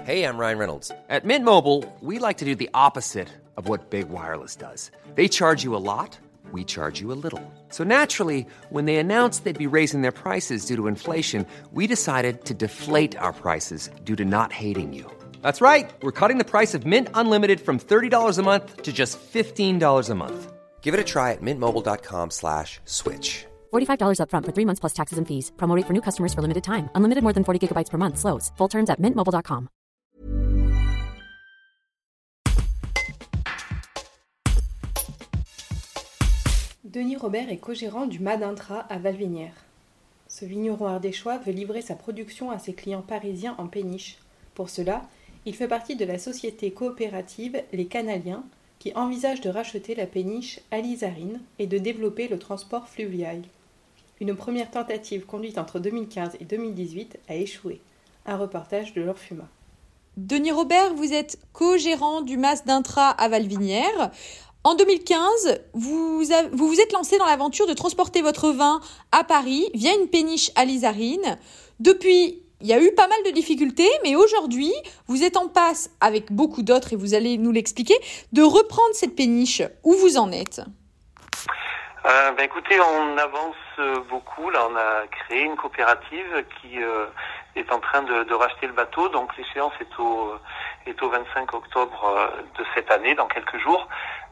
Hey, I'm Ryan Reynolds. At Mint Mobile, we like to do the opposite of what Big Wireless does. They charge you a lot, we charge you a little. So naturally, when they announced they'd be raising their prices due to inflation, we decided to deflate our prices due to not hating you. That's right. We're cutting the price of Mint Unlimited from $30 a month to just $15 a month. Give it a try at mintmobile.com/switch. $45 up front for 3 months plus taxes and fees. Promo rate for new customers for limited time. Unlimited more than 40 gigabytes per month. Slows full terms at mintmobile.com. Denis Robert est co-gérant du MAD Intra à Valvinières. Ce vigneron ardéchois veut livrer sa production à ses clients parisiens en péniche. Pour cela, il fait partie de la société coopérative Les Canaliens, qui envisage de racheter la péniche Alizarine et de développer le transport fluvial. Une première tentative conduite entre 2015 et 2018 a échoué. Un reportage de Laure Fuma. Denis Robert, vous êtes co-gérant du MAD Intra à Valvinières. En 2015, vous vous êtes lancé dans l'aventure de transporter votre vin à Paris via une péniche alizarine. Depuis, il y a eu pas mal de difficultés, mais aujourd'hui, vous êtes en passe, avec beaucoup d'autres, et vous allez nous l'expliquer, de reprendre cette péniche. Où vous en êtes ? Écoutez, on avance beaucoup. Là, on a créé une coopérative qui est en train de racheter le bateau. Donc, l'échéance est au 25 octobre de cette année, dans quelques jours.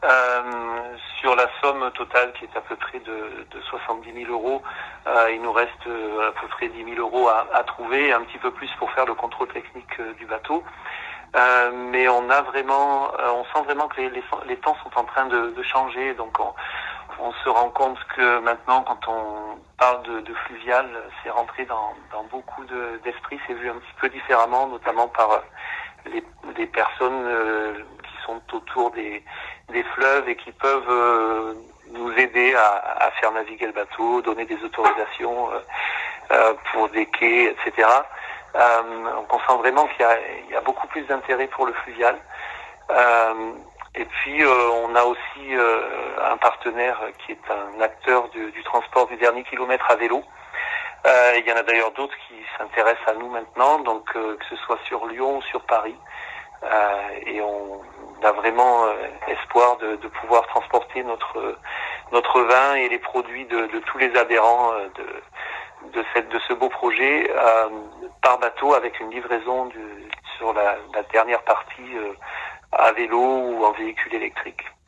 Sur la somme totale qui est à peu près de 70 000 euros, il nous reste à peu près 10 000 euros à trouver, et un petit peu plus pour faire le contrôle technique du bateau. Mais on sent vraiment que les temps sont en train de changer. Donc, on se rend compte que maintenant, quand on parle de fluvial, c'est rentré dans beaucoup d'esprits, c'est vu un petit peu différemment, notamment par les personnes qui sont autour des fleuves et qui peuvent nous aider à faire naviguer le bateau, donner des autorisations pour des quais, etc. Donc on sent vraiment qu'il y a beaucoup plus d'intérêt pour le fluvial. Et puis on a aussi un partenaire qui est un acteur du transport du dernier kilomètre à vélo. Il y en a d'ailleurs d'autres qui s'intéressent à nous maintenant, donc que ce soit sur Lyon ou sur Paris. Et on a vraiment espoir de pouvoir transporter notre vin et les produits de tous les adhérents de ce beau projet par bateau, avec une livraison sur la dernière partie à vélo ou en véhicule électrique.